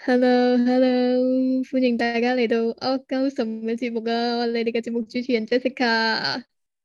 Hello，歡迎大家嚟到歐鳩什嘅節目啊！我係你哋嘅節目主持人 Jessica，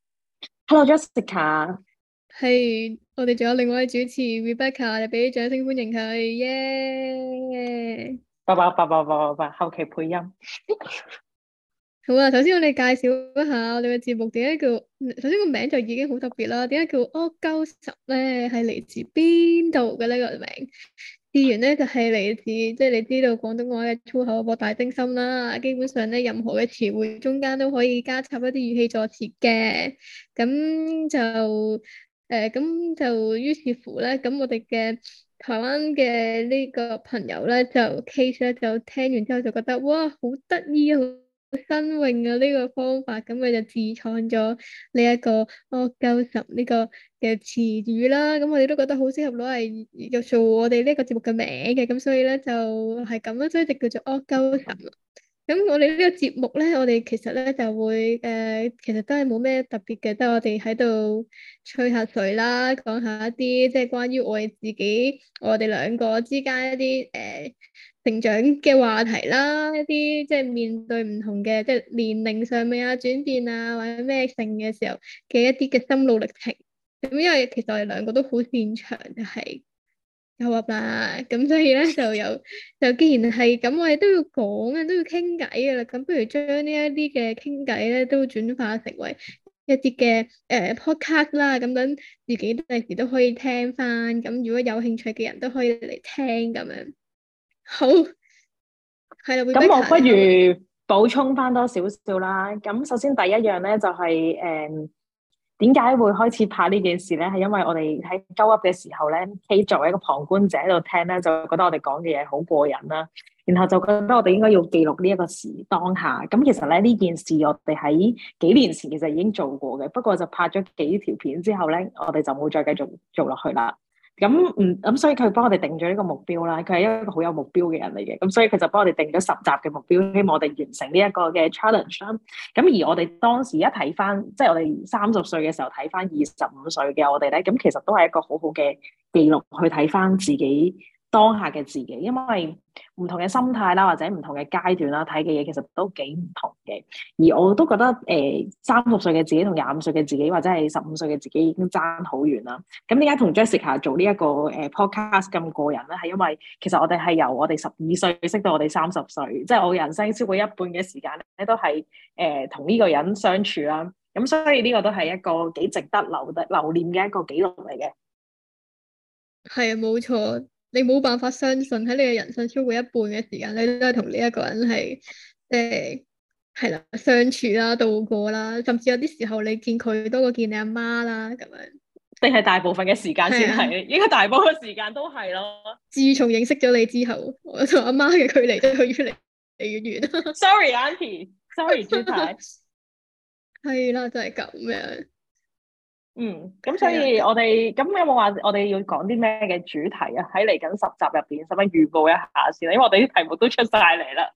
Hello Jessica， 係我哋仲有另外一位主持 Rebecca，你俾啲掌聲歡迎佢，耶！ 叭，後期配音。 好啊，首先我哋介紹一下我哋嘅節目點解叫，首先個名就已經好特別啦，點解叫歐鳩什咧？係嚟自邊度嘅呢個名？字源咧就係嚟自，即係你知道廣東話嘅粗口博大精深啦。基本上咧，任何嘅詞彙中間都可以加插一啲語氣助詞嘅。咁就咁就於是乎咧，咁我哋嘅台灣嘅呢個朋友咧，就 Case 咧就聽完之後就覺得哇，好得意啊！新穎啊！呢個方法，咁佢就自創咗呢一個阿鳩什呢個嘅詞語啦。咁我哋都覺得好適合攞嚟又做我哋呢個節目嘅名嘅，咁所以咧就係咁啦，所以就叫做阿鳩什。咁我哋呢個節目咧，我哋其實咧就會其實都係冇咩特別嘅，都係我哋喺度吹下水啦，講下一啲即係關於我哋自己，我哋兩個之間一啲成長嘅話題啦，一啲即係面對唔同嘅即係年齡上面啊轉變啊或者咩性嘅時候嘅一啲嘅心路歷程。咁因為其實我哋兩個都好擅長就係有噏啦，咁所以咧就既然係咁，我哋都要講啊，都要傾偈噶啦。咁不如將呢一啲嘅傾偈咧，都轉化成為一啲嘅podcast 啦。咁等自己第時都可以聽翻。咁如果有興趣嘅人都可以嚟聽咁樣。好，係啦咁我 ，Rebecca， 不你可唔可以？ 如補充翻多少少啦。咁首先第一樣咧就係點解會開始拍呢件事咧？係因為我哋喺鳩噏嘅時候咧，K 作為一個旁觀者喺度聽咧，就覺得我哋講嘅嘢好過癮啦。然後就覺得我哋應該要記錄呢一個當下。咁其實咧呢件事我哋喺幾年前其實已經做過嘅，不過就拍咗幾條片之後咧，我哋就冇再繼續做落去啦。所以佢幫我哋定咗呢個目標啦。佢係一個好有目標嘅人嚟嘅，咁所以佢就幫我哋定咗10集嘅目標，希望我哋完成呢一個嘅 challenge 啦。咁而我哋當時一睇翻，即係我哋30歲嘅時候睇翻25歲嘅我哋咧，咁其實都係一個好好嘅記錄去睇翻自己當下嘅自己，因為唔同嘅心態啦，或者唔同嘅階段啦，睇嘅嘢其實都幾唔同嘅。而我都覺得30歲嘅自己同25歲嘅自己，或者係15歲嘅自己已經爭好遠啦。咁點解同 Jessica 做呢一個podcast 咁過癮咧？係因為其實我哋係由我哋12歲識到我哋30歲，即係我人生超過一半嘅時間咧，都係同呢個人相處啦。咁所以呢個都係一個幾值得留念嘅一個記錄嚟嘅。 係啊，冇錯，你冇辦法相信喺你嘅人生超過一半嘅時間，你都係同呢一個人係即係啦相處啦、度過啦，甚至有啲時候你見佢多過見你阿媽啦咁樣。 定係大部分嘅時間係啊， 先係，應該大部分時間都係咯。 自從認識咗你之後，我同阿媽嘅距離都越嚟越遠。 Sorry，Auntie，Sorry，朱太。 係啦，就係咁樣。 咁所係啊， 以我哋咁有冇話我哋要講啲咩嘅主題啊？喺嚟緊10集入邊，使唔使預告一下先？因為我哋啲題目都出晒嚟啦。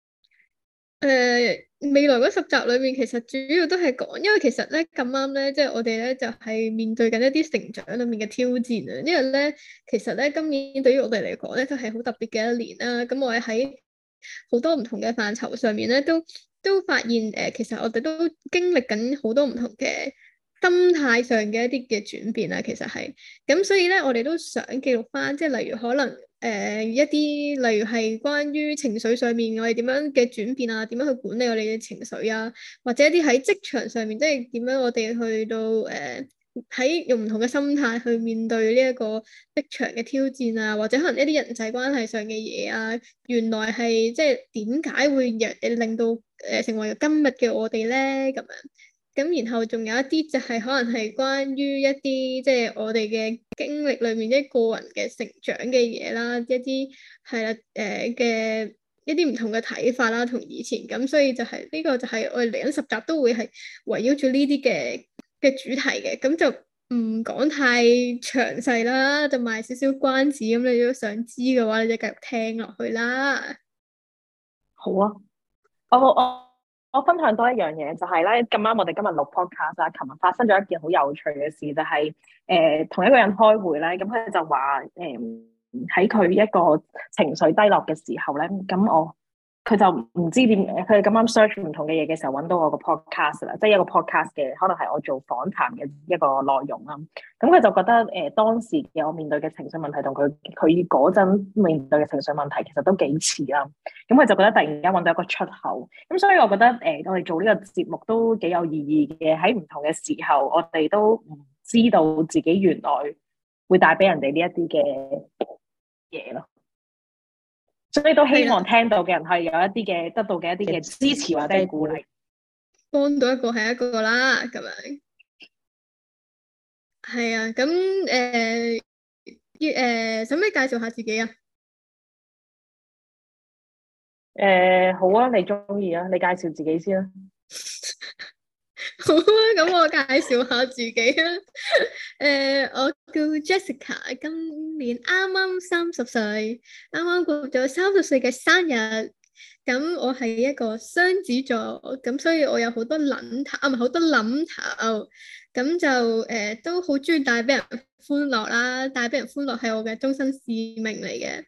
未來嗰10集裏面，其實主要都係講，因為其實咧咁啱咧，即係我哋咧就係面對緊一啲成長裏面嘅挑戰啊。因為咧，其實咧今年對於我哋嚟講咧，都係好特別嘅一年啦。咁我哋喺好多唔同嘅範疇上面咧，都發現其實我哋都經歷緊好多唔同嘅心態上嘅一啲嘅轉變啊。其實係咁，所以咧我哋都想記錄翻，即係例如可能。一啲例如係關於情緒上面，我哋點樣嘅轉變啊，點樣去管理我哋嘅情緒啊，或者一啲喺職場上面，即係點樣我哋去到喺用唔同嘅心態去面對呢一個職場嘅挑戰啊，或者可能一啲人際關係上嘅嘢啊，原來係即係點解會令到成為今日嘅我哋咧咁樣。咁然後仲有一啲就係可能係關於一啲即係我哋嘅經歷裏面一個人嘅成長嘅嘢啦，一啲係啦嘅一啲唔同嘅睇法啦，同以前咁，所以就係呢個就係我哋嚟緊10集都會係圍繞住呢啲嘅主題嘅，咁就唔講太詳細啦，就賣少少關子，咁你如果想知嘅話，你就繼續聽落去啦。 好啊，我分享多一樣嘢，就係咧咁啱我哋今日錄 podcast 啊，琴日發生咗一件好有趣嘅事，就係同一個人開會咧，咁佢就話喺佢一個情緒低落嘅時候咧，佢就唔知點，佢咁啱 search 唔同嘅嘢嘅時候揾到我個 podcast 啦，即係一個 podcast 嘅，可能係我做訪談嘅一個內容啦。咁佢就覺得當時嘅我面對嘅情緒問題同佢嗰陣面對嘅情緒問題其實都幾似啦。咁佢就覺得突然間揾到一個出口。咁所以我覺得我哋做呢個節目都幾有意義嘅。喺唔同嘅時候，我哋都唔知道自己原來會帶俾人哋呢一啲嘅嘢咯。所以都希望聽到嘅人係有一啲嘅得到嘅一啲嘅支持或者鼓勵， 幫到一個係一個啦，咁樣。係啊，咁使唔使介紹下自己啊？ 好啊，你中意啊，你介紹自己先啦。 好啊，咁我介紹下自己啊。我叫 Jessica，今年啱啱30歲，啱啱過咗30歲嘅生日。咁我係一個雙子座，咁所以我有好多諗頭，唔係好多諗頭。咁就都好中意帶俾人歡樂啦，帶俾人歡樂係我嘅終身使命嚟嘅。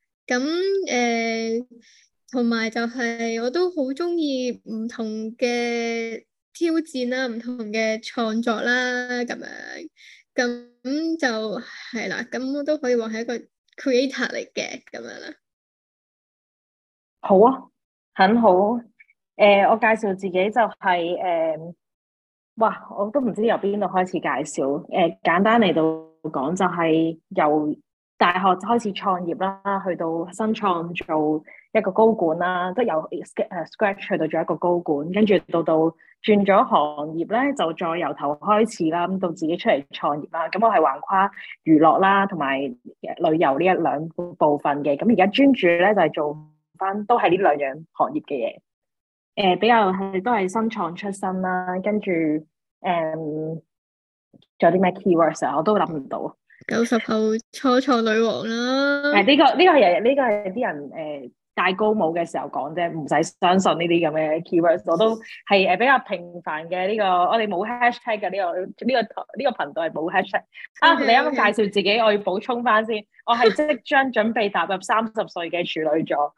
咁同埋就係我都好中意唔同嘅挑戰啦，唔同嘅創作啦，咁樣，咁就係啦，咁我都可以話係一個 creator 嚟嘅咁樣啦。 好啊，很好。我介紹自己就係哇，我都唔知由邊度開始介紹。簡單嚟到講，就係由大學開始創業啦，去到新創做一個高管啦，即係由scratch 去到做一個高管，跟住到轉咗行業咧，就再由頭開始啦，咁到自己出嚟創業啦。咁我係橫跨娛樂啦，同埋旅遊呢一兩部分嘅。咁而家專注咧就係做翻都係呢兩樣行業嘅嘢。比較都係新創出身啦，跟住仲有啲咩 keywords 啊，我都諗唔到。 90後初創女王啦。 呢個係啲人戴高帽嘅時候講啫，唔使相信呢啲咁嘅 keywords。我都係比較平凡嘅呢個，我哋冇 hashtag 嘅呢個頻道係冇 hashtag。你啱啱介紹自己，我要補充翻先，我係即將準備踏入30歲嘅處女座。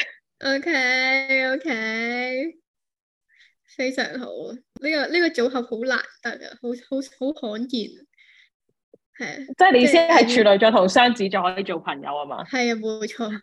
OK， 非常好。呢個組合好難得啊，好罕見。係即係你先係處女座同雙子座可以做朋友啊嘛？ 係啊，冇錯。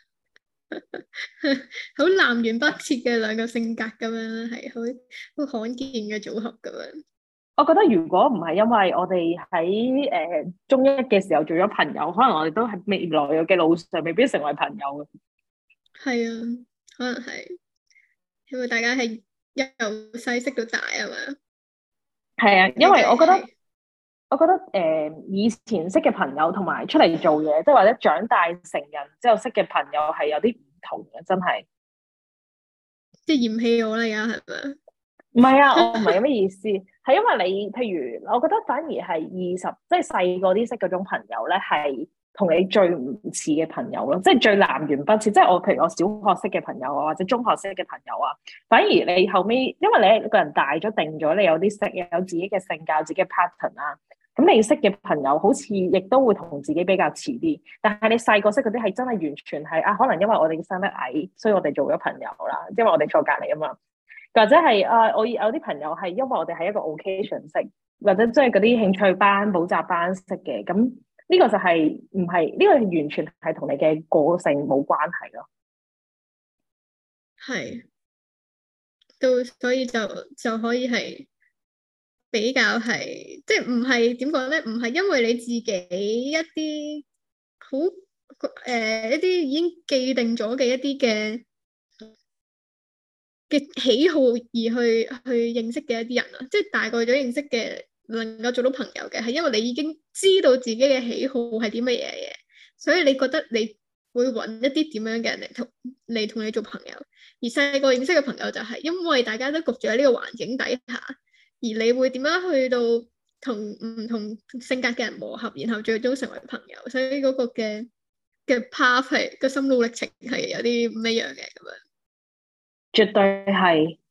好南轅北轍嘅兩個性格咁樣，係好罕見嘅組合咁樣。 我覺得如果唔係因為我哋喺中一嘅時候做咗朋友，可能我哋都係未來嘅路上未必成為朋友嘅。 係啊，可能係因為大家係由細識到大啊嘛。 係啊，因為我覺得以前識嘅朋友同埋出嚟做嘢，即係或者長大成人之後識嘅朋友係有啲唔同嘅，真係。 即係嫌棄我啦，而家係咪？ 唔係啊，我唔係咁嘅意思，係因為你，譬如我覺得反而係20，即係細個啲識嗰種朋友咧，係同你最唔似嘅朋友咯，即係最南轅北轍。即係我譬如我小學識嘅朋友啊，或者中學識嘅朋友啊，反而你後尾，因為你個人大咗定咗，你有啲識，有自己嘅性格、自己嘅 pattern 啊，咁你識嘅朋友好似亦都會同自己比較似啲。但係你細個識嗰啲係真係完全係啊，可能因為我哋生得矮，所以我哋做咗朋友啦，因為我哋坐隔離啊嘛。或者係我有啲朋友係因為我哋係一個 occasion 識，或者即係嗰啲興趣班、補習班識嘅，咁呢個就係唔係呢個完全係同你嘅個性冇關係咯。 係，所以就可以係比較係，即係唔係點講咧？唔係因為你自己一啲好一啲已經既定咗嘅一啲嘅喜好而去認識嘅一啲人啊，即係大個咗認識嘅，能夠做到朋友嘅，係因為你已經知道自己嘅喜好係啲乜嘢嘢，所以你覺得你會揾一啲點樣嘅人嚟同你做朋友。而細個認識嘅朋友就係因為大家都焗住喺呢個環境底下，而你會點樣去到同唔同性格嘅人磨合，然後最終成為朋友。所以嗰個嘅 path 係個心路歷程係有啲唔一樣嘅咁樣。 絕對係，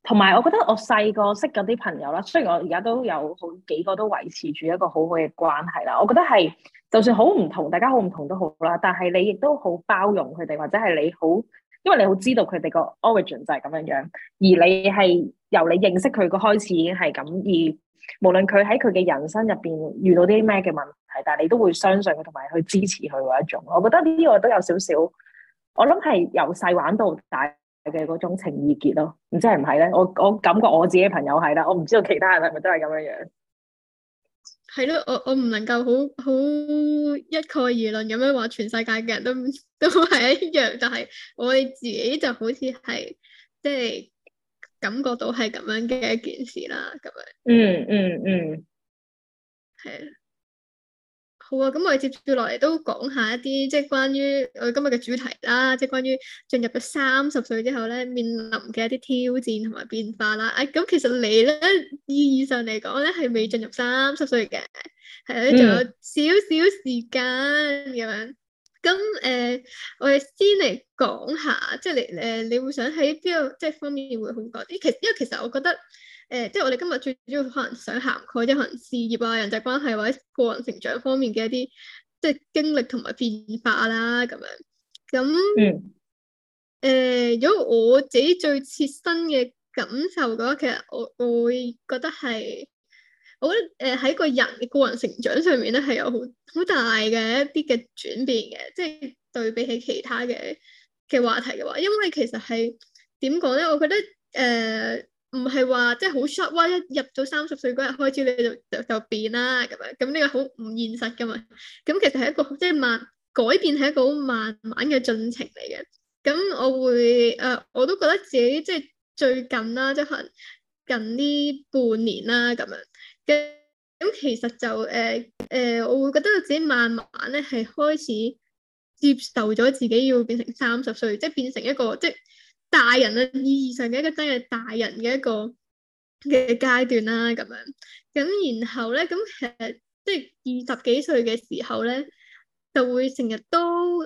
同埋我覺得我細個識嗰啲朋友啦，雖然我而家都有好幾個都維持住一個好好嘅關係啦，我覺得係就算好唔同，大家好唔同都好啦，但係你亦都好包容佢哋，或者係你好，因為你好知道佢哋個 origin 就係咁樣樣，而你係由你認識佢個開始已經係咁，而無論佢喺佢嘅人生入邊遇到啲咩嘅問題，但係你都會相信佢同埋去支持佢嗰一種，我覺得呢個都有少少，我諗係由細玩到大嘅嗰種情意結咯，唔知係唔係咧？我感覺我自己嘅朋友係啦，我唔知道其他人係咪都係咁樣樣。 係咯，我唔能夠好一概而論咁樣話全世界嘅人都係一樣，但係我哋自己就好似係即係感覺到係咁樣嘅一件事啦，咁樣。 嗯， 係。好啊，咁我哋接住落嚟都講下一啲即係關於我哋今日嘅主題啦，即係關於進入咗30歲之後咧，面臨嘅一啲挑戰同埋變化啦。咁其實你咧意義上嚟講咧係未進入30歲嘅，係咧仲有少少時間咁樣。咁我哋先嚟講下，即係你會想喺邊個即係方面會好講啲？因為其實我覺得。即係我哋今日最主要可能想涵蓋即係可能事業啊、人際關係或者個人成長方面嘅一啲即係經歷同埋變化啦咁樣。咁如果我自己最切身嘅感受嘅話，其實我會覺得係，我覺得喺個人嘅個人成長上面咧係有好大嘅一啲嘅轉變嘅，即係對比起其他嘅話題嘅話，因為其實係點講咧？我覺得唔係話即係好 short，哇！一入到30歲嗰日開始你就變啦咁樣，咁呢個好唔現實噶嘛。咁其實係一個即係改變係一個好慢慢嘅進程嚟嘅。咁我會我都覺得自己即係最近啦，即係可能近呢半年啦咁樣。咁其實就我會覺得自己慢慢咧係開始接受咗自己要變成30歲，即係變成一個即係大人嘅意義上嘅一個真係大人嘅一個嘅階段啦，咁樣。咁然後咧，咁其實即係20幾歲嘅時候咧，就會成日都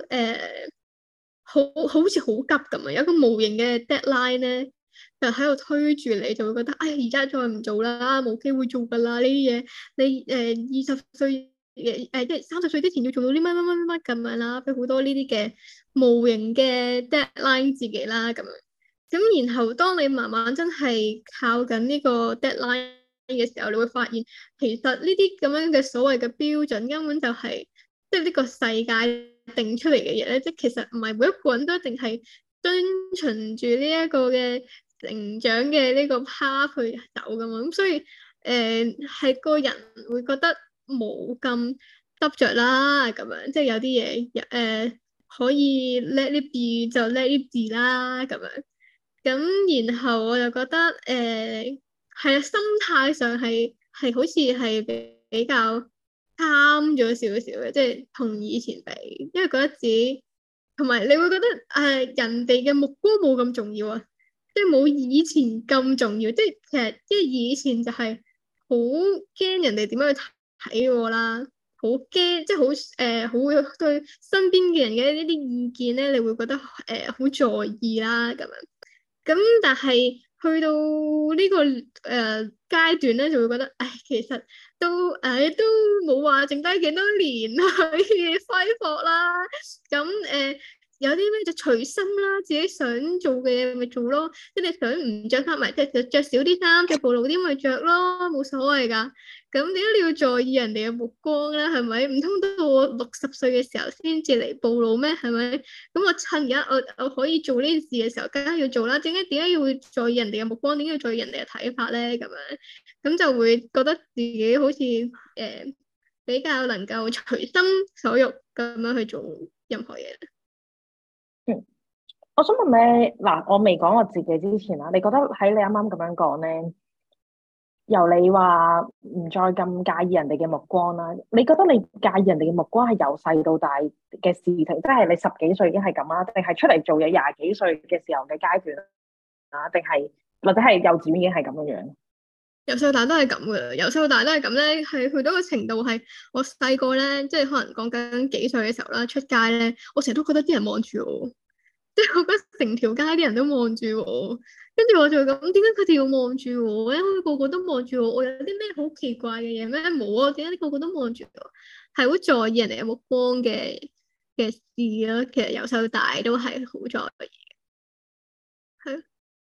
好似好急咁啊，有一個無形嘅 deadline 咧，就喺度推住你，就會覺得哎呀，而家再唔做啦，冇機會做噶啦呢啲嘢。你20歲即係30歲之前要做到啲乜咁樣啦，俾好多呢啲嘅無形嘅 deadline 自己啦，咁樣。咁然後當你慢慢真係靠緊呢個 deadline 嘅時候，你會發現其實呢啲咁樣嘅所謂嘅標準根本就係即係呢個世界定出嚟嘅嘢咧，即係其實唔係每一個人都一定係遵循住呢一個嘅成長嘅呢個 path 去走噶嘛，咁所以係個人會覺得冇咁執着啦，咁樣即係有啲嘢可以 let it be 就 let it be 啦，咁樣。咁然後我就覺得係啊，心態上係好似係比較啱咗少少嘅，即係同以前比，因為覺得自己同埋你會覺得人哋嘅目光冇咁重要啊，即係冇以前咁重要，即係其實即係以前就係好驚人哋點樣去睇我啦，好驚即係好會對身邊嘅人嘅呢啲意見咧，你會覺得好在意啦咁樣。咁但係去到呢個階段咧，就會覺得，唉，其實都冇話剩低幾多年可以揮霍啦。咁有啲咩就隨心啦，自己想做嘅嘢咪做咯。即係你想唔着衫咪即係着少啲衫，着暴露啲咪着咯，冇所謂㗎。咁點解你要在意人哋嘅目光咧？係咪？唔通到我60歲嘅時候先至嚟暴露咩？係咪？咁我趁而家我可以做呢件事嘅時候，梗係要做啦。點解要在意人哋嘅目光？點解要在意人哋嘅睇法咧？咁樣咁就會覺得自己好似比較能夠隨心所欲咁樣去做任何嘢。 我想問咧，嗱，我未講我自己之前啦，你覺得喺你啱啱咁樣講咧，由你話唔再咁介意人哋嘅目光啦，你覺得你介意人哋嘅目光係由細到大嘅事情，即係你10幾歲已經係咁啦，定係出嚟做嘢20幾歲嘅時候嘅階段啊？定係或者係幼稚園已經係咁樣樣？ 由細到大都係咁嘅，由細到大都係咁咧，係去到個程度係我細個咧，即係可能講緊幾歲嘅時候啦，出街咧，我成日都覺得啲人望住我。即係我覺得成條街啲人都望住我， 跟住我就咁，點解佢哋要望住我咧？個個都望住我，我有啲咩好奇怪嘅嘢咩？冇啊，點解個個都望住我？係好在意人哋嘅目光嘅事咯。其實由細到大都係好在意，係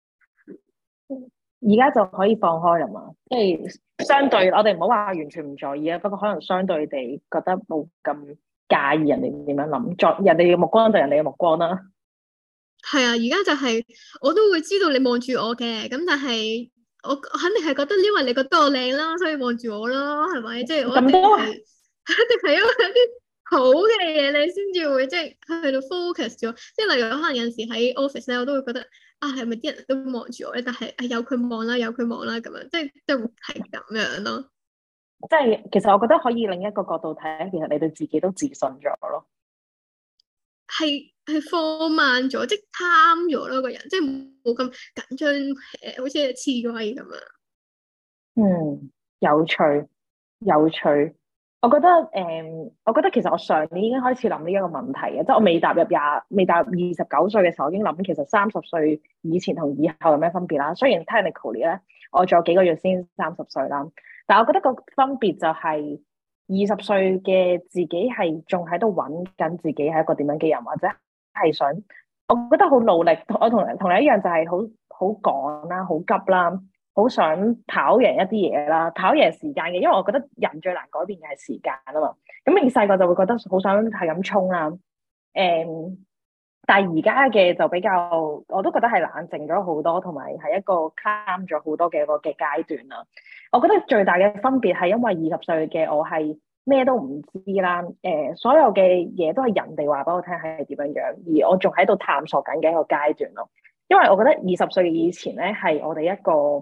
而家就可以放開啦嘛，即係相對我哋唔好話完全唔在意啊，不過可能相對地覺得冇咁介意人哋點樣諗，在人哋嘅目光就人哋嘅目光啦。 係啊！而家就係我都會知道你望住我嘅，咁但係我肯定係覺得，因為你覺得我靚啦，所以望住我咯，係咪？即係我一咁都定係，一定係因為有啲好嘅嘢，你先至會即係去到 focus 咗。即係例如可能有陣時喺 office 咧，我都會覺得啊，係咪啲人都望住我咧？但係由佢望啦，由佢望啦，咁樣即係就係咁樣咯。 即係其實我覺得可以另一個角度睇，其實你對自己都自信咗咯。 係放慢咗，即係貪咗咯，個人即係冇咁緊張，好似刺蝟咁樣。 嗯，有趣，有趣。我覺得我覺得其實我上年已經開始諗呢一個問題嘅，即係我未踏入29歲嘅時候，我已經諗其實30歲以前同以後有咩分別啦。雖然 technically 咧，我仲有幾個月先30歲啦，但係我覺得個分別就係20歲嘅自己係仲喺度揾緊自己係一個點樣嘅人，或者係想，我覺得好努力。我同你一樣，就係好趕啦，好急啦。好想跑贏一啲嘢啦，跑贏時間嘅，因為我覺得人最難改變嘅係時間啊嘛。咁你細個就會覺得好想係咁衝啦，但係而家嘅就比較，我都覺得係冷靜咗好多，同埋係一個 calm 咗好多嘅一個嘅階段啦。我覺得最大嘅分別係因為20歲嘅我係咩都唔知啦，所有嘅嘢都係人哋話俾我聽係點樣樣，而我仲喺度探索緊嘅一個階段咯。因為我覺得20歲以前咧係我哋一個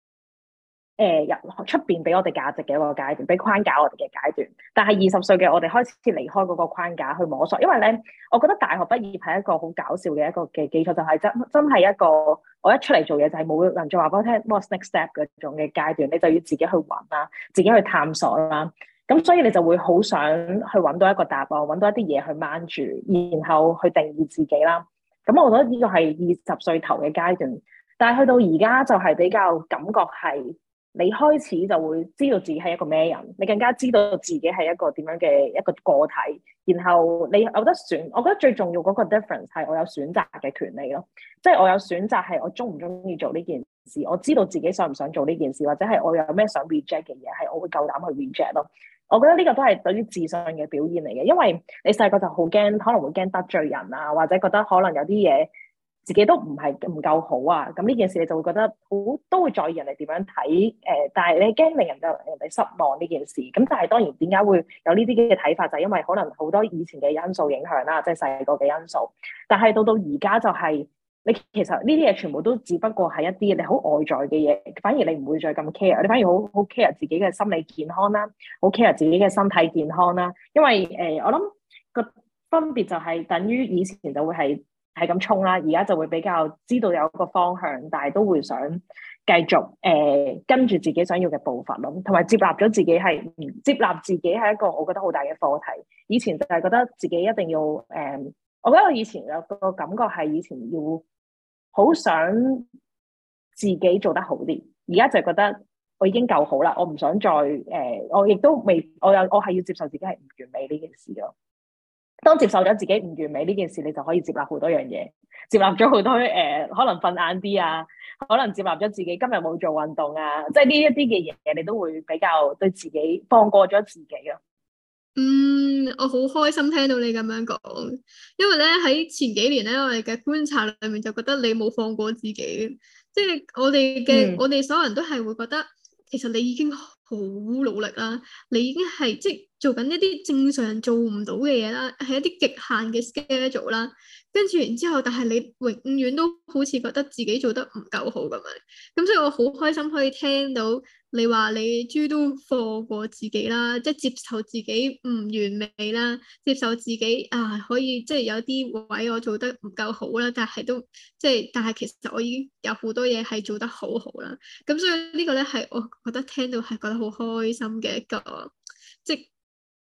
入出邊俾我哋價值嘅一個階段，俾框架我哋嘅階段。但係20歲嘅我哋開始離開嗰個框架去摸索，因為咧，我覺得大學畢業係一個好搞笑嘅一個嘅基礎，就係真係一個我一出嚟做嘢就係冇人再話俾我聽 what's next step 嗰種嘅階段，你就要自己去揾啦，自己去探索啦。咁所以你就會好想去揾到一個答案，揾到一啲嘢去掹住，然後去定義自己啦。咁我覺得呢個係20歲頭嘅階段，但係去到而家就係比較感覺係。你開始就會知道自己係一個咩人，你更加知道自己係一個點樣嘅一個個體，然後你有得選，我覺得最重要嗰個 difference 係我有選擇嘅權利咯，即係我有選擇係我中唔中意做呢件事，我知道自己想唔想做呢件事，或者係我有咩想 reject 嘅嘢，係我會夠膽去 reject 咯。我覺得呢個都係對於自信嘅表現嚟嘅，因為你細個就好驚，可能會驚得罪人啊，或者覺得可能有啲嘢。自己都唔夠好啊，咁呢件事你就會覺得好都會在意人哋點樣睇，但係你驚令人哋失望呢件事，咁但係當然點解會有呢啲嘅睇法，就係因為可能好多以前嘅因素影響啦，即係細個嘅因素，但係到而家就係你其實呢啲嘢全部都只不過係一啲你好外在嘅嘢，反而你唔會再咁 care，你反而好 care 自己嘅心理健康啦，好 care 自己嘅身體健康啦，因為我諗個分別就係等於以前就會係咁衝啦，而家就會比較知道有一個方向，但係都會想繼續跟住自己想要嘅步伐咯，同埋接納咗自己接納自己係一個我覺得好大嘅課題。以前就係覺得自己一定要我覺得我以前有個感覺係以前要好想自己做得好啲，而家就係覺得我已經夠好啦，我唔想再我亦都未，我係要接受自己係唔完美呢件事咯。當接受咗自己唔完美呢件事，你就可以接納好多樣嘢，接納咗好多可能瞓晏啲啊，可能接納咗自己今日冇做運動啊，即係呢一啲嘅嘢，你都會比較對自己放過咗自己咯。 我好開心聽到你咁樣講，因為咧喺前幾年咧，我哋嘅觀察裏面就覺得你冇放過自己，即係我哋所有人都係會覺得，其實你已經好努力啦，你已經係即係做緊一啲正常人做唔到嘅嘢啦，係一啲極限嘅 schedule 啦，跟住然之後，但係你永遠都好似覺得自己做得唔夠好咁樣，咁所以我好開心可以聽到。你話你終於都放過自己啦，即係接受自己唔完美啦，接受自己可以即係有啲位我做得唔夠好啦，但係都即係，但係其實我已經有好多嘢係做得好好啦。咁所以呢個咧係我覺得聽到係覺得好開心嘅一個，即係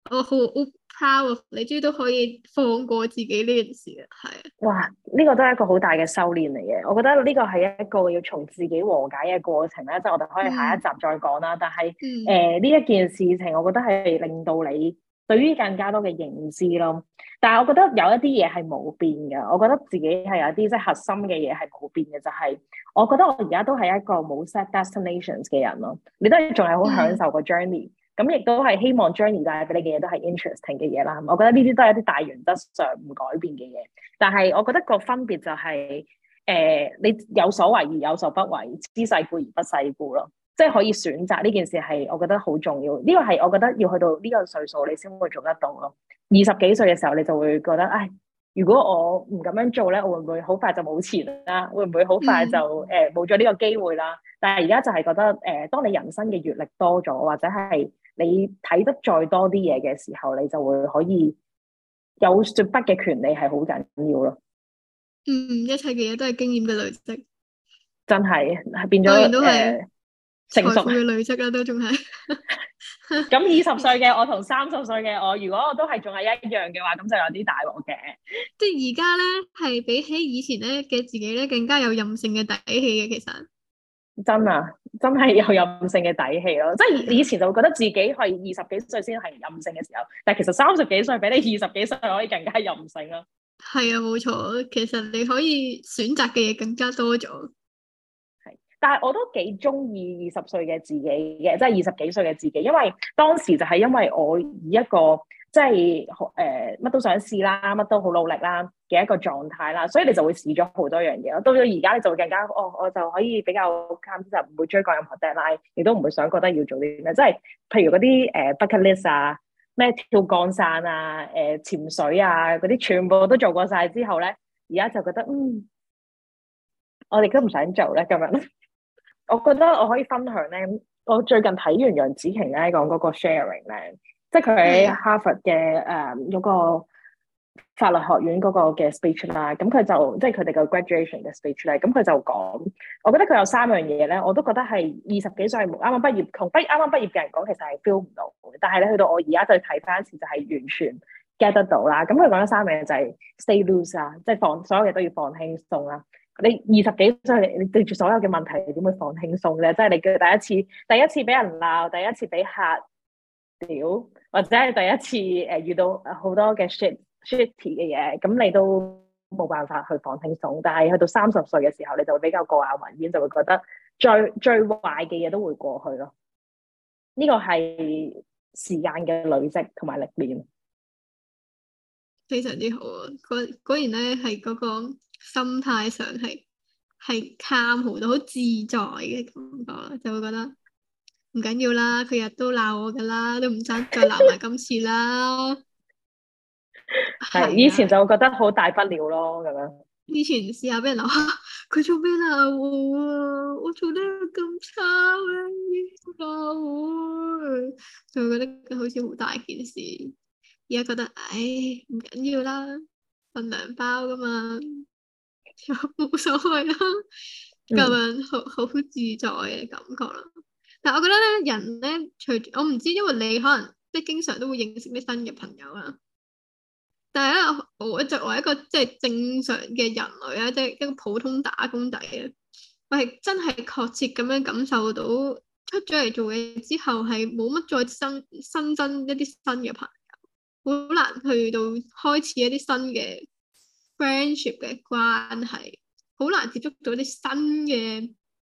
我好 proud of 你，終於都可以放過自己呢件事啊，係啊， 哇！呢個都係一個好大嘅修煉嚟嘅。我覺得呢個係一個要從自己和解嘅過程咧，即係我哋可以下一集再講啦。但係呢一件事情，我覺得係令到你對於更加多嘅認知咯。但係我覺得有一啲嘢係冇變嘅。我覺得自己係有啲即係核心嘅嘢係冇變嘅，就係我覺得我而家都係一個冇 set destinations 嘅人咯。你都係仲係好享受個 journey。咁亦都係希望 journey 帶俾你嘅嘢都係 interesting 嘅嘢啦。我覺得呢啲都係一啲大原則上唔改變嘅嘢。但係我覺得個分別就係、你有所為而有所不為，知世故而不世故咯。即係可以選擇呢件事係我覺得好重要。呢個係我覺得要去到呢個歲數你先會做得到咯。20幾歲嘅時候你就會覺得，唉，如果我唔咁樣做咧，我會唔會好快就冇錢啦？會唔會好快就冇咗呢個機會啦？但係而家就係覺得當你人生嘅閱歷多咗，或者係你睇得再多啲嘢嘅時候，你就會可以有說不嘅權利，係好緊要咯。 一切嘅嘢都係經驗嘅累積， 真係變咗當然都係成熟嘅累積啦，都仲係。 咁20歲嘅我同30歲嘅我，如果我都係仲係一樣嘅話，咁就有啲大鑊嘅。 即係而家咧，係比起以前咧嘅自己咧，更加有任性嘅底氣嘅，其實。 真係有任性嘅底氣咯。即係以前就會覺得自己係20幾歲先係任性嘅時候，但係其實30幾歲比你20幾歲可以更加任性咯。 係啊，冇錯，其實你可以選擇嘅嘢更加多咗。 係，但係我都幾中意20歲嘅自己嘅，即係20幾歲嘅自己，因為當時就係因為我以一個即係乜都想試啦，乜都好努力啦嘅一個狀態啦，所以你就會試咗好多樣嘢咯。到咗而家你就會更加我就可以比較 calm，就唔會追趕任何 deadline，亦都唔會想覺得要做啲咩，即係譬如嗰啲bucket list 啊，咩跳降傘啊、潛水啊嗰啲，全部都做過晒之後咧，而家就覺得我哋都唔想做咧咁樣。我覺得我可以分享咧，我最近睇完楊紫瓊咧講嗰個 sharing 咧，即係佢喺哈佛嘅嗰個法律學院嗰個嘅 speech 啦，咁佢就即係佢哋個 graduation 嘅 speech 咧，咁佢就講，我覺得佢有3樣嘢咧，我都覺得係20幾歲啱啱畢業同啱啱畢業嘅人講，其實係 feel 唔到嘅，但係咧去到我而家再睇翻一次，就係完全 get 得到啦。咁佢講咗3樣嘢就係 stay loose 啊，即係所有嘢都要放輕鬆啦。你20幾歲，你對住所有嘅問題，你點會放輕鬆咧？即係你嘅第一次俾人鬧，第一次俾客屌，或者係第一次遇到好多嘅 shitty 嘅嘢，咁你都冇辦法去放輕鬆。但係去到30歲嘅時候，你就會比較過眼雲煙，就會覺得最壞嘅嘢都會過去咯。呢個係時間嘅累積同埋歷練， 非常之好啊！果然咧係嗰個心態上係 calm 好多，好自在嘅感覺，就會覺得唔緊要啦，佢日都鬧我噶啦，都唔爭再鬧埋今次啦。 係以前就會覺得好大不了咯，咁樣。 以前試下俾人鬧，佢做咩鬧我啊？我做得咁差咩？鬧我，就會覺得好似好大件事。而家覺得，唉，唔緊要啦，份糧包噶嘛，冇所謂啦，咁樣好自在嘅感覺啦。但係我覺得咧，人咧，隨住我唔知，因為你可能即係經常都會認識啲新嘅朋友啊。但係咧，我作為一個即係正常嘅人類啊，即係一個普通打工仔啊，我係真係確切咁樣感受到出咗嚟做嘢之後，係冇乜再新增一啲新嘅朋友，好難去到開始一啲新嘅 friendship 嘅關係，好難接觸到啲新嘅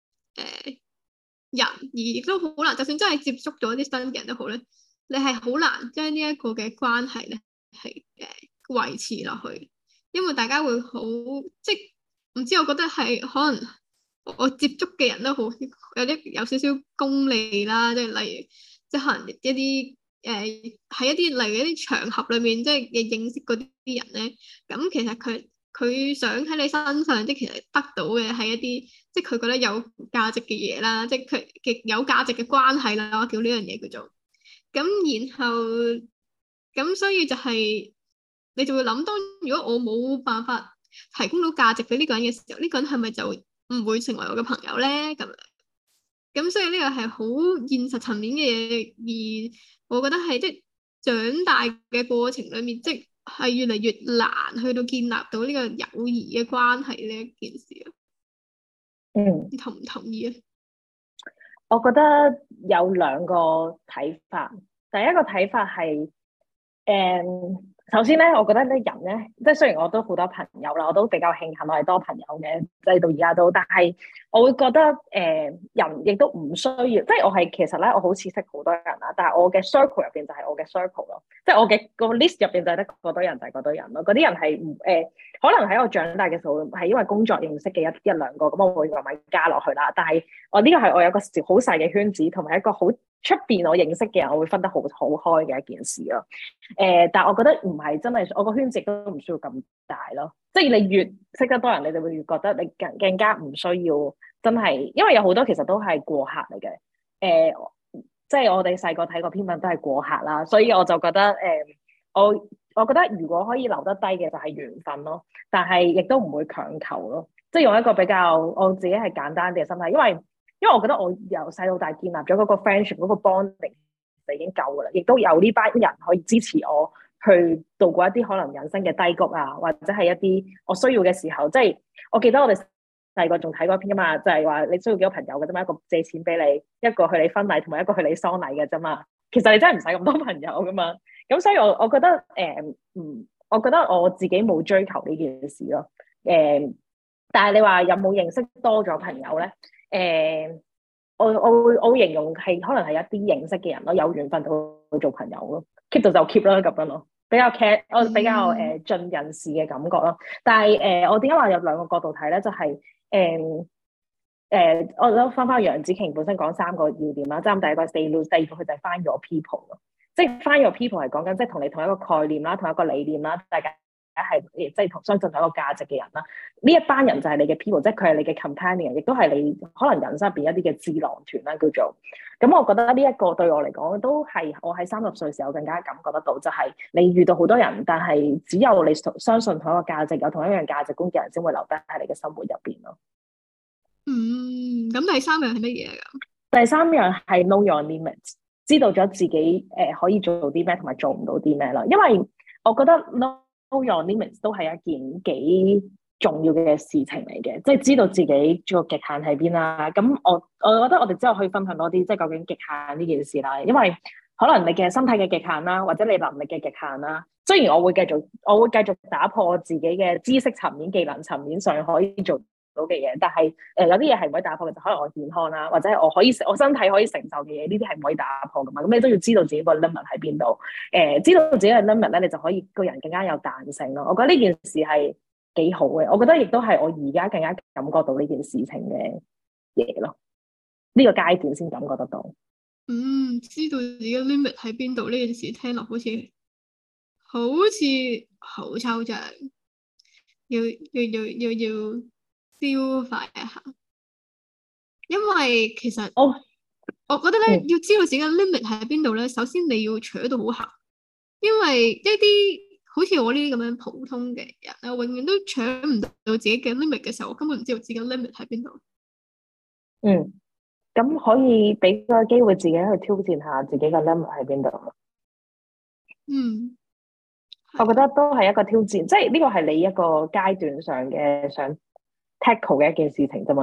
人，而亦都好難，就算真係接觸咗啲新嘅人都好咧，你係好難將呢一個嘅關係咧係維持落去，因為大家會好即係唔知，我覺得係可能我接觸嘅人都好有少少功利啦，即係例如即係可能一啲喺一啲例如一啲場合裏面即係認識嗰啲人咧，咁其實佢想喺你身上即係其實得到嘅係一啲即係佢覺得有價值嘅嘢啦，即係佢嘅有價值嘅關係啦，我叫呢樣嘢叫做咁，然後咁所以就係你就會諗，當如果我冇辦法提供到價值俾呢個人嘅時候，呢個人係咪就唔會成為我嘅朋友咧？咁所以呢個係好現實層面嘅嘢，而我覺得係即係長大嘅過程裏面，即係越嚟越難去到建立到呢個友誼嘅關係呢一件事啊。你同唔同意啊？ 我覺得有兩個睇法。第一個睇法係首先咧，我覺得咧人咧，即係雖然我都好多朋友啦，我都比較慶幸我係多朋友嘅，即係到而家都，但係我會覺得人亦都唔需要，即係我係其實咧，我好似識好多人啦，但係我嘅 circle 入邊就係我嘅 circle 咯，即係我嘅個 list 入邊就係得嗰堆人就係嗰堆人咯，嗰啲人係唔可能喺我長大嘅時候係因為工作認識嘅一兩個，咁我會慢慢加落去啦。但係我呢個係我有個好細嘅圈子，同埋一個好出邊我認識嘅人，我會分得好開嘅一件事咯。但係我覺得唔係真係，我個圈子都唔需要咁大咯。即係你越識得多人，你就會越覺得你更加唔需要真係，因為有好多其實都係過客嚟嘅。即係我哋細個睇過篇文都係過客啦，所以我就覺得我覺得如果可以留得低嘅就係緣分咯，但係亦都唔會強求咯。即係用一個比較我自己係簡單啲嘅心態，因為我覺得我由細到大建立咗嗰個 friendship 嗰個 bonding 就已經夠噶啦，亦都有呢班人可以支持我去度過一啲可能人生嘅低谷啊，或者係一啲我需要嘅時候。即係我記得我哋細個仲睇過一篇噶嘛，就係話你需要幾個朋友嘅啫嘛，一個借錢俾你，一個去你婚禮，同埋一個去你喪禮嘅啫嘛。其實你真係唔使咁多朋友噶嘛。咁所以我覺得我覺得我自己冇追求呢件事咯。但係你話有冇認識多咗朋友咧？我會形容係可能係一啲認識嘅人咯，有緣分就會做朋友咯，keep 到就 keep 啦咁樣咯，我比較盡人事嘅感覺咯。但係我點解話有兩個角度睇咧？就係我都翻楊紫瓊本身講三個要點啦，即係第一個 stay loose，第二個佢就係 find your people 咯，即係 find your people 係講緊即係同你同一個概念啦，同一個理念啦，大家係即係同相信同一個價值嘅人啦。呢一班人就係你嘅 people，即係佢係你嘅 companion， 亦都係你可能人生入邊一啲嘅智囊團啦，叫做。咁我覺得呢一個對我嚟講都係我喺30歲時候更加感覺得到，就係你遇到好多人，但係只有你相信同一個價值，有同一樣價值觀嘅人先會留低喺你嘅生活入邊咯。 咁第三樣係乜嘢㗎？ 第三樣係 know your limits， 知道咗自己可以做啲咩同埋做唔到啲咩啦。因為我覺得 know your limits 都係一件幾重要嘅事情嚟嘅，即係知道自己個極限喺邊啦。咁我覺得我哋之後可以分享多啲，即係究竟極限呢件事啦。因為可能你嘅身體嘅極限啦，或者你能力嘅極限啦。雖然我會繼續打破我自己嘅知識層面、技能層面上可以做到嘅嘢，但係有啲嘢係唔可以打破嘅，就可能我健康啦，或者我身體可以承受嘅嘢，呢啲係唔可以打破噶嘛。咁你都要知道自己個 limit 喺邊度，知道自己嘅 limit 咧，你就可以個人更加有彈性咯。我覺得呢件事係幾好嘅，我覺得亦都係我而家更加感覺到呢件事情嘅嘢咯。呢個階段先感覺得到。 知道自己 limit 喺邊度呢件事，聽落好似好抽象，要消化一下。因為其實我覺得咧，要知道自己嘅 limit 喺邊度咧，首先你要除到好行，因為一啲好似我呢啲咁樣普通嘅人咧，永遠都搶唔到自己嘅 limit 嘅時候，我根本唔知道自己嘅 limit 喺邊度。 咁可以俾個機會自己去挑戰下自己嘅 limit 喺邊度。我覺得都係一個挑戰，即係呢個係你一個階段上嘅想 tackle 嘅一件事情啫嘛。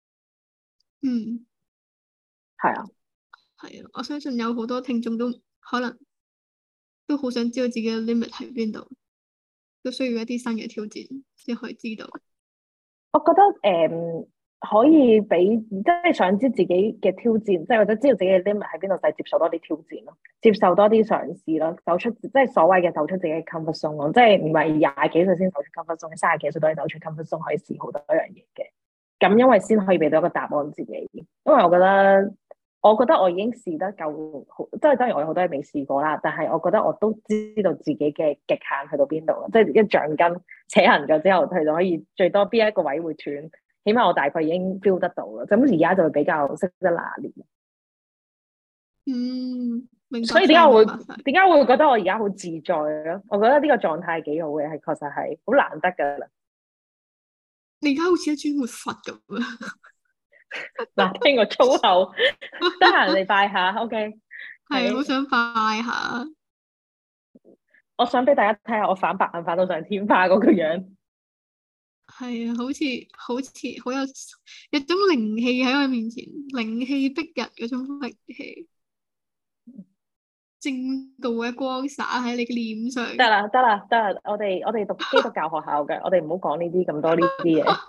係啊， 我相信有好多聽眾都可能都好想知道自己嘅 limit 喺邊度，都需要一啲新嘅挑戰先可以知道。 我覺得可以俾即係想知自己嘅挑戰，即係或者知道自己嘅 limit 喺邊度，就係接受多啲挑戰咯，接受多啲嘗試咯，走出即係所謂嘅走出自己嘅 comfort zone 咯，即係唔係20幾歲先走出 comfort zone， 30幾歲都可以走出 comfort zone， 可以試好多樣嘢嘅。咁因為先可以俾到一個答案自己，因為我覺得我已經試得夠好，即係當然我有好多嘢未試過啦，但係我覺得我都知道自己嘅極限去到邊度，即係一橡筋扯行咗之後，佢就可以最多邊一個位會斷。起碼我大概已經 feel 得到啦，咁而家就會比較識得拿捏。 明白。 所以點解會覺得我而家好自在咯？我覺得呢個狀態幾好嘅，係確實係好難得噶啦。 你而家好似一尊活佛咁啊！ 嗱，聽個粗口，得閒你拜下，OK？ 係好想拜下。 我想俾大家睇下我反白眼反到上天花嗰個樣。 係啊，好似好有種靈氣喺我面前，靈氣逼人嗰種靈氣，正道嘅光灑喺你嘅臉上。 得啦得啦得啦，我哋讀基督教學校嘅，我哋唔好講呢啲咁多呢啲嘢。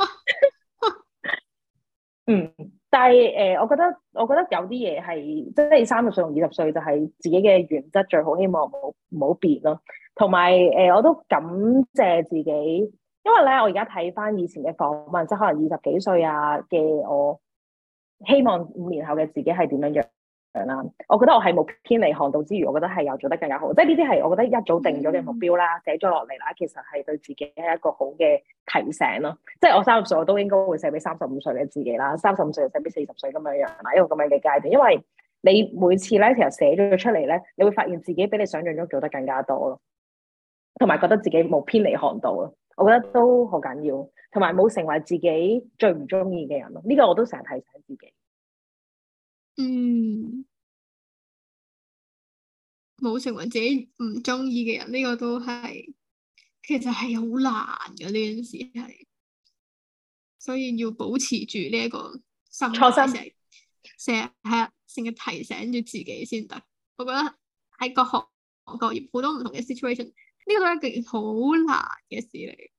嗯，但係我覺得有啲嘢係即係30歲同20歲就係自己嘅原則最好，希望唔好變咯。同埋我都感謝自己，因為咧我而家睇翻以前嘅訪問，即係可能20幾歲嘅我，希望5年後嘅自己係點樣啦。我覺得我係冇偏離航道之餘，我覺得係有做得更加好。即係呢啲係我覺得一早定咗嘅目標啦，寫咗落嚟啦，其實係對自己係一個好嘅提醒咯。即係我30歲我都應該會寫俾35歲嘅自己啦，35歲就寫俾40歲咁樣樣啦，一個咁樣嘅階段。因為你每次咧其實寫咗出嚟咧，你會發現自己比你想象中做得更加多咯，同埋覺得自己冇偏離航道咯。我覺得都好緊要，同埋冇成為自己最唔中意嘅人咯。呢個我都成日提醒自己。 冇成為自己唔中意嘅人，呢個都係其實係好難嘅呢件事係，所以要保持住呢一個心態，成日提醒住自己先得。我覺得喺各行各業好多唔同嘅 situation，呢個都係一件好難嘅事嚟。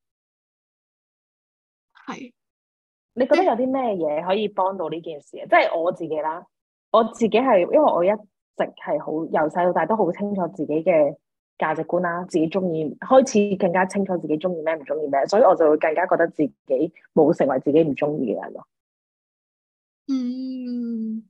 係， 你覺得有啲咩嘢可以幫到呢件事啊？即係我自己啦，我自己係因為我一直係好由細到大都好清楚自己嘅價值觀啦，自己中意開始更加清楚自己中意咩唔中意咩，所以我就會更加覺得自己冇成為自己唔中意嘅人咯。 嗯，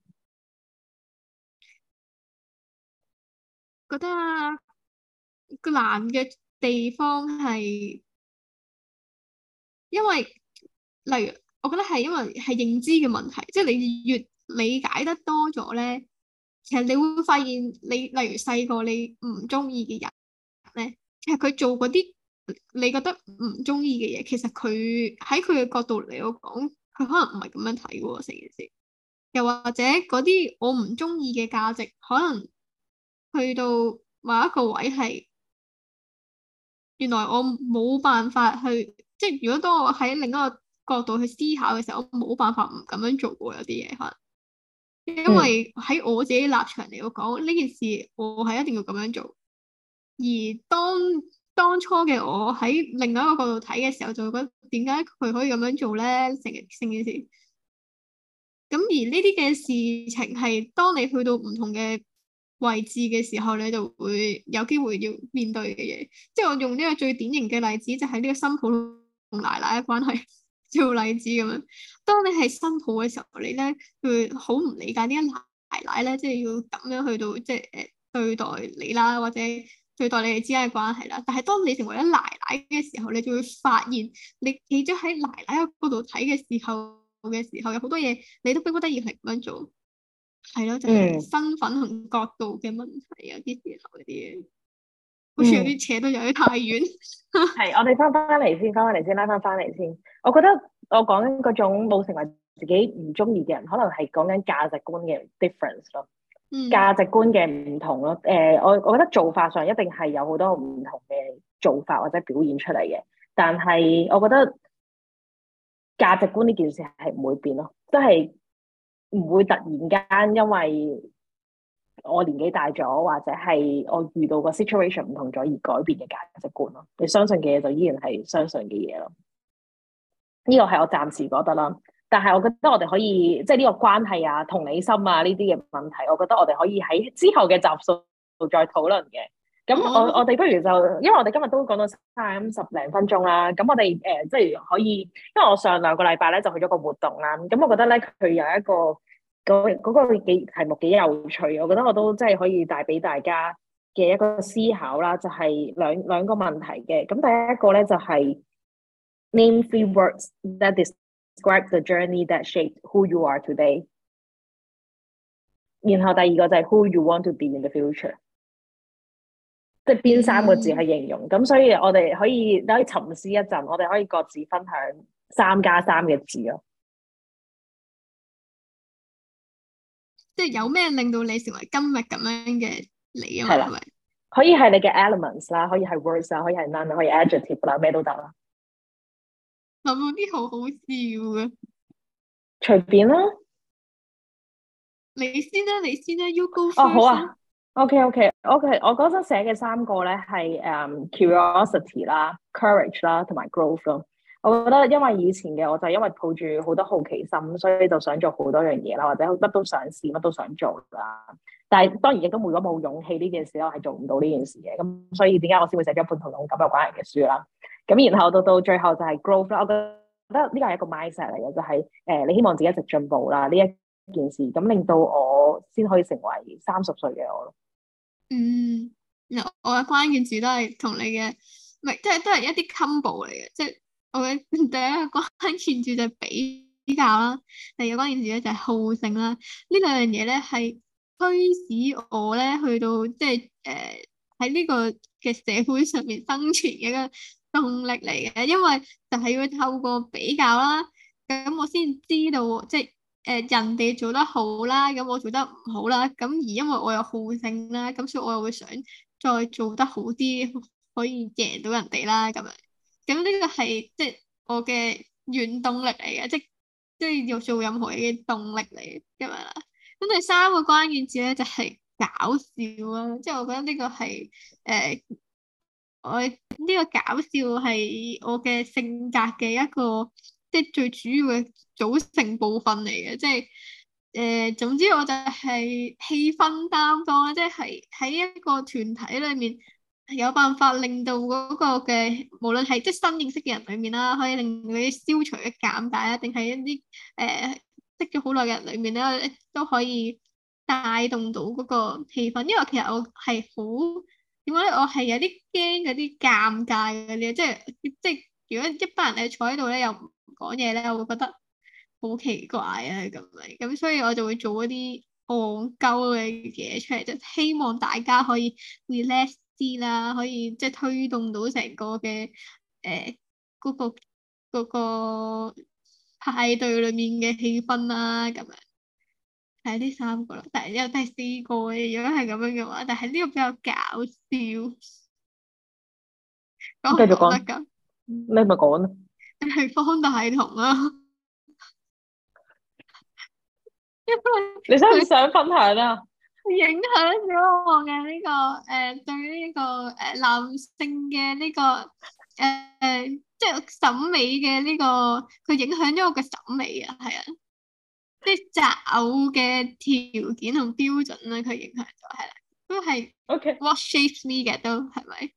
覺得個難嘅地方係因為例如，我覺得係因為係認知嘅問題，即係你越理解得多咗咧，其實你會發現你例如細個你唔中意嘅人咧，其實佢做嗰啲你覺得唔中意嘅嘢，其實佢喺佢嘅角度嚟講，佢可能唔係咁樣睇嘅喎成件事。又或者嗰啲我唔中意嘅價值，可能去到某一個位係，原來我冇辦法去，即係如果當我喺另一個角度去思考嘅時候，我冇辦法唔咁樣做喎。有啲嘢可能，因嗯為喺我自己立場嚟講，呢件事我係一定要咁樣做。而當初嘅我喺另外一個角度睇嘅時候，就會覺得點解佢可以咁樣做咧？成件事。咁而呢啲嘅事情係當你去到唔同嘅位置嘅時候，你就會有機會要面對嘅嘢。即係我用呢個最典型嘅例子，就係呢個新抱同奶奶嘅關係做例子咁樣。當你係新抱嘅時候，你咧會好唔理解點解奶奶咧，即係要咁樣去到即係對待你啦，或者對待你哋之間嘅關係啦。但係當你成為咗奶奶嘅時候，你就會發現，你企咗喺奶奶嗰度睇嘅時候，有好多嘢你都逼不得已係咁樣做，係咯，就係嗯身份同角度嘅問題啊！啲時候嗰啲嘢，好似有嗯， 啲扯得有啲太遠。 係，我哋翻翻嚟先，拉翻嚟先。我覺得我講緊嗰種冇成為自己唔中意嘅人，可能係講緊價值觀嘅 difference 咯， 嗯價值觀嘅唔同咯。我覺得做法上一定係有好多唔同嘅做法或者表現出嚟嘅，但係我覺得價值觀呢件事係唔會變咯，即係唔會突然間因為我年紀大咗，或者係我遇到個 situation 唔同咗而改變嘅價值觀咯。你相信嘅嘢就依然係相信嘅嘢咯。呢個係我暫時覺得啦。但係我覺得我哋可以即係呢個關係啊、同理心啊呢啲嘅問題，我覺得我哋可以喺之後嘅集數再討論嘅。咁我哋不如就，因為我哋今日都講到30零分鐘啦。咁我哋即係可以，因為我上2個禮拜咧就去咗個活動啦。咁我覺得咧佢有一個嗰個題目幾有趣，我覺得我都即係可以帶俾大家嘅一個思考啦。就係兩個問題嘅。咁第一個咧就係 name 3 words that describe the journey that shaped who you are today。然後第二個就係 who you want to be in the future。即係邊3個字去形容，咁所以我哋可以沉思一陣，我哋可以各自分享3+3嘅字咯。 即係有咩令到你成為今日咁樣嘅你啊嘛？ 係啦， 係咪？ 可以係你嘅 elements 啦，可以係 words 啦，可以係 noun，可以 adjective 啦，咩都得啦， 有冇啲好好笑嘅？ 隨便啦。 你先啦，you go 哦，好 first 啦。 啊，OK，我嗰陣寫嘅三個咧係curiosity 啦、courage 啦同埋 growth 咯。我覺得因為以前嘅我就因為抱住好多好奇心，所以就想做好多樣嘢啦，或者乜都想試，乜都想做啦。但係當然亦都如果冇勇氣呢件事，我係做唔到呢件事嘅。咁所以點解我先會寫咗一本同勇敢有關嘅書啦？咁然後到最後就係 growth 啦。我覺得呢個係一個 mindset 嚟嘅，就係你希望自己一直進步啦。呢一件事咁令到我先可以成為30歲嘅我咯。 嗯，我嘅關鍵字都係同你嘅，唔係，即係都係一啲 combo 嚟嘅，即係我嘅第一個關鍵字就係比較啦，第二個關鍵字咧就係好勝啦。呢兩樣嘢咧係驅使我咧去到即係喺呢個嘅社會上面生存嘅一個動力嚟嘅，因為就係要透過比較啦，咁我先知道即係。人哋做得好啦，咁我做得唔好啦，咁而因為我有好勝啦，咁所以我又會想再做得好啲，可以贏到人哋啦，咁樣，咁呢個係即係我嘅原動力嚟嘅，即係要做任何嘢嘅動力嚟嘅嘛。咁第三個關鍵字咧就係搞笑啦，即係我覺得呢個係誒我呢個搞笑係我嘅性格嘅一個即係最主要嘅組成部分嚟嘅，即係總之我就係氣氛擔當啦，即係喺一個團體裏面有辦法令到嗰個嘅無論係即係新認識嘅人裏面啦，可以令佢消除一尷尬啦，定係一啲識咗好耐嘅人裏面咧都可以帶動到嗰個氣氛，因為其實我係好。點解咧？我係有啲驚嗰啲尷尬嗰啲，即係如果一班人你坐喺度咧又唔講嘢咧，我會覺得好奇怪啊咁樣，咁所以我就會做一啲戇鳩嘅嘢出嚟，就希望大家可以 relax 啲啦，可以即係推動到成個嘅嗰個嗰個派對裏面嘅氣氛啦，咁樣。係呢三個咯，但係有第四個嘅，如果係咁樣嘅話，但係呢個比較搞笑，講唔繼續講， 講得噶？ 你咪講咯。 係方大同啦，因為你想唔佢想分享啊？ 影響咗我嘅呢個對呢個男性嘅呢個即係審美嘅呢個，佢影響咗我嘅審美啊，係啊，即係擇偶嘅條件同標準啦，佢影響咗係啦，都係 OK what shapes me 嘅都係咪？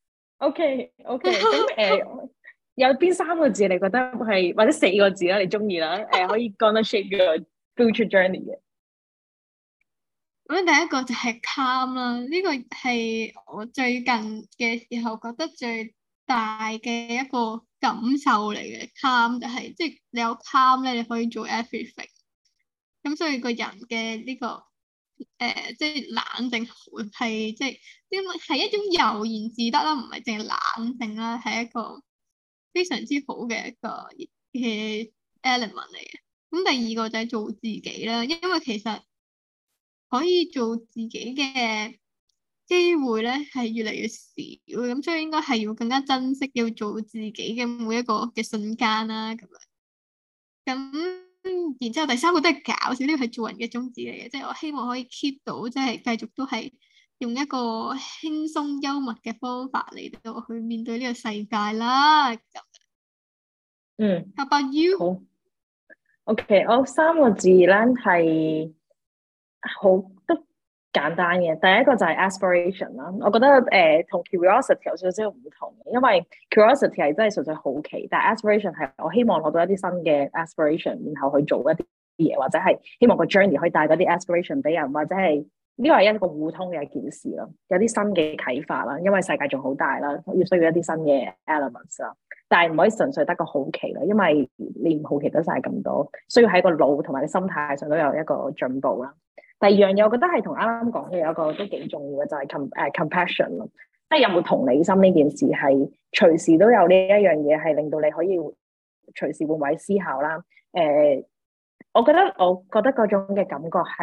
OK，咁有邊三個字你覺得係或者4個字啦，你中意啦？可以 gonna shape your future journey 嘅。 咁第一個就係 calm 啦，呢個係我最近嘅時候覺得最大嘅一個感受嚟嘅。calm 就係即係你有 calm 咧，你可以做 everything。咁所以個人嘅呢個即係冷靜係即係因為係一種悠然自得啦，唔係淨係冷靜啦，係一個非常之好嘅一個嘅 element 嚟嘅。咁第二個就係做自己啦，因為其實可以做自己嘅機會咧係越嚟越少，咁所以應該係要更加珍惜要做自己嘅每一個嘅瞬間啦，咁樣。咁然之後第三個都係搞笑，呢個係做人嘅宗旨嚟嘅，即係我希望可以 keep 到，即係繼續都係用一個輕鬆幽默嘅方法嚟到去面對呢個世界啦。咁嗯， ，How about you？ 好。OK，我3個字咧係好都簡單嘅。第一個就係 aspiration 啦，我覺得同 curiosity 有少少唔同嘅，因為 curiosity 係真係純粹好奇，但係 aspiration 係我希望攞到一啲新嘅 aspiration，然後去做一啲嘢，或者係希望個 journey 可以帶嗰啲 aspiration 俾人，或者係呢個係一個互通嘅一件事咯，有啲新嘅啟發啦，因為世界仲好大啦，要需要一啲新嘅 elements 啦。但係唔可以純粹得個好奇啦，因為你唔好奇得晒咁多，需要喺個腦同埋個心態上都有一個進步啦。第二樣嘢，我覺得係同啱啱講嘅有一個都幾重要嘅，就係compassion 咯，即係有冇同理心呢件事係隨時都有呢一樣嘢，係令到你可以隨時換位思考啦。我覺得嗰種嘅感覺係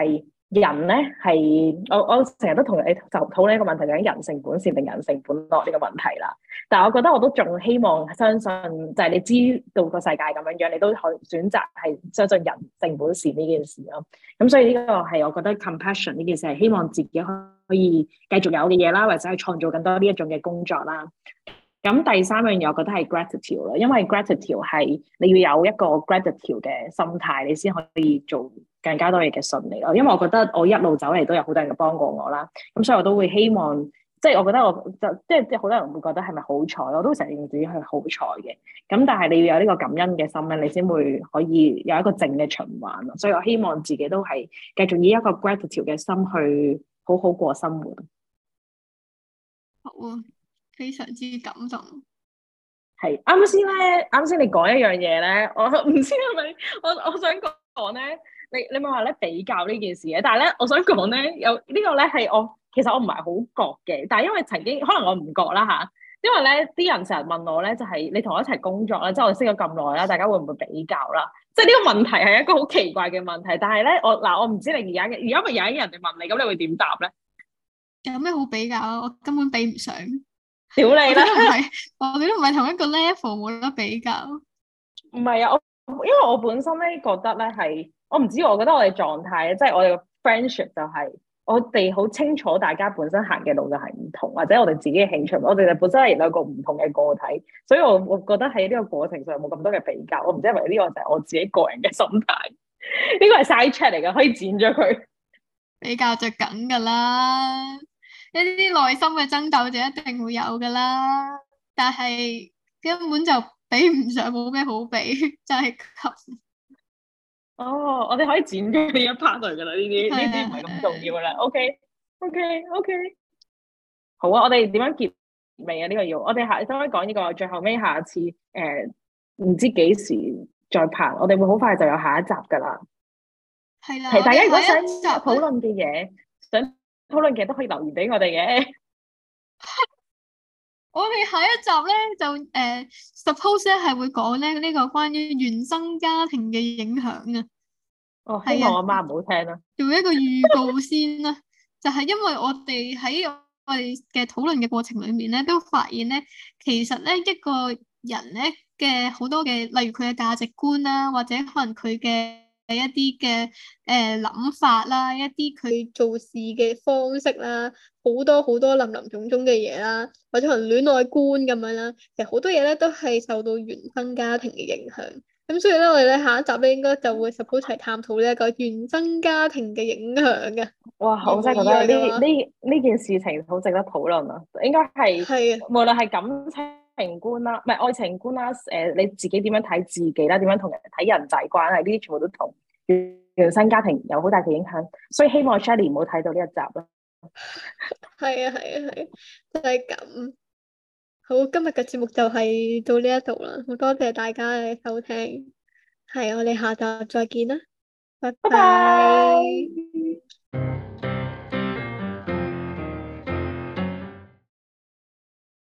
人咧係我成日都同你就討論一個問題，究竟人性本善定人性本惡呢個問題啦。但係我覺得我都仲希望相信，就係你知道個世界咁樣樣，你都可以選擇係相信人性本善呢件事咯。咁所以呢個係我覺得 compassion 呢件事係希望自己可以繼續有嘅嘢啦，或者係創造更多呢一種嘅工作啦。咁第三樣嘢，我覺得係 gratitude 啦，因為 gratitude 係你要有一個 gratitude 嘅心態，你先可以做更加多嘢嘅順利咯。因為我覺得我一路走嚟都有好多人幫過我啦，咁所以我都會希望，即係我覺得我就即係好多人會覺得係咪好彩，我都成日認自己係好彩嘅。咁但係你要有呢個感恩嘅心咧，你先會可以有一個正嘅循環咯。所以我希望自己都係繼續以一個 gratitude 嘅心去好好過生活。 好啊，非常之感動。 係啱先咧，啱先你講一樣嘢咧，我唔知係咪我想講咧，你咪話咧比較呢件事嘅，但係咧我想講咧有呢個咧係我其實我唔係好覺嘅，但係因為曾經可能我唔覺啦吓，因為咧啲人成日問我咧就係你同我一齊工作啦，即係我哋識咗咁耐啦，大家會唔會比較啦？即係呢個問題係一個好奇怪嘅問題，但係咧我唔知你而家咪有一日人哋問你，咁你會點答咧？ 有咩好比較啊？我根本比唔上。 屌你啦！ 我哋都唔係同一個 level，冇得比較。 唔係啊，因為我本身咧覺得咧係，我唔知，我覺得我哋狀態即係我哋個 friendship 就係我哋好清楚大家本身行嘅路就係唔同，或者我哋自己嘅興趣，我哋就本身係兩個唔同嘅個體，所以我覺得喺呢個過程上冇咁多嘅比較。我唔知係咪呢個就係我自己個人嘅心態，呢個係 side chat 嚟嘅，可以剪咗佢。 比較就梗噶啦，一啲內心嘅爭鬥就一定會有噶啦，但係根本就比唔上，冇咩好比，就係咁。 哦，我哋可以剪咗呢一 part 嚟噶啦，呢啲唔係咁重要噶啦。OK，好啊，我哋點樣結尾啊？呢個要我哋下可唔可以講呢個最後尾下次唔知幾時再拍，我哋會好快就有下一集噶啦。 係啦， 係大家如果想討討論嘅嘢，想討論嘅都可以留言俾我哋嘅。 我哋下一集咧就suppose 咧係會講咧呢個關於原生家庭嘅影響啊。 哦，希望我媽唔好聽啦。 做一個預告先啦，就係因為我哋喺我哋嘅討論嘅過程裏面咧，都發現咧，其實咧一個人咧嘅好多嘅，例如佢嘅價值觀啦，或者可能佢嘅一啲嘅諗法啦，一啲佢做事嘅方式啦，好多好多林林總總嘅嘢啦，或者可能戀愛觀咁樣啦，其實好多嘢咧都係受到原生家庭嘅影響。咁所以咧，我哋咧下一集咧應該就會 suppose 齊探討呢一個原生家庭嘅影響嘅。 哇，我真係覺得呢件事情好值得討論啊！應該係無論係感情觀啦，唔係愛情觀啦，你自己點樣睇自己啦，點樣同人睇人際關係，呢啲全部都同原生家庭有好大嘅影響。所以希望 Shelly 唔好睇到呢一集啦。 係啊，就係咁。好，今日嘅節目就係到呢一度啦，好多謝大家嘅收聽，係我哋下集再見啦，拜拜拜。 拜。